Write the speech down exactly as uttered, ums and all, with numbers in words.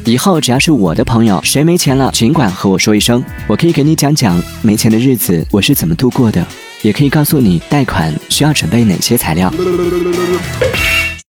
以后只要是我的朋友，谁没钱了，尽管和我说一声，我可以给你讲讲没钱的日子我是怎么度过的，也可以告诉你贷款需要准备哪些材料。